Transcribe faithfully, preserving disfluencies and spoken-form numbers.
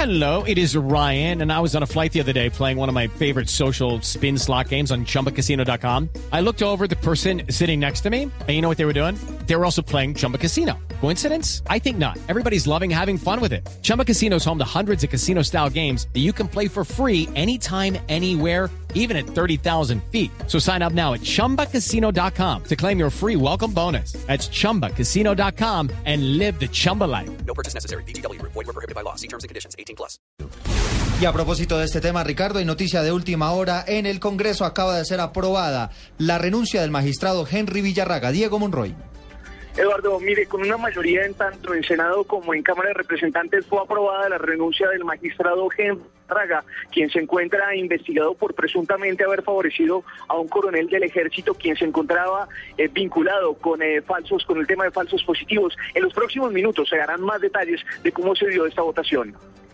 Hello, it is Ryan, and I was on a flight the other day playing one of my favorite social spin slot games on Chumba Casino dot com. I looked over at the person sitting next to me, and you know what they were doing? They were also playing Chumba Casino. Coincidence? I think not. Everybody's loving having fun with it. Chumba Casino is home to hundreds of casino-style games that you can play for free anytime, anywhere, even at thirty thousand feet. So sign up now at Chumba Casino dot com to claim your free welcome bonus. That's Chumba Casino dot com and live the Chumba life. No purchase necessary. V G W. Void where prohibited by law. See terms and conditions. eighteen plus. Y a propósito de este tema, Ricardo, hay noticia de última hora. En el Congreso acaba de ser aprobada la renuncia del magistrado Henry Villarraga. Diego Monroy. Eduardo, mire, con una mayoría en tanto en Senado como en Cámara de Representantes fue aprobada la renuncia del magistrado Henry Villarraga, quien se encuentra investigado por presuntamente haber favorecido a un coronel del ejército quien se encontraba eh, vinculado con eh, falsos, con el tema de falsos positivos. En los próximos minutos se darán más detalles de cómo se dio esta votación.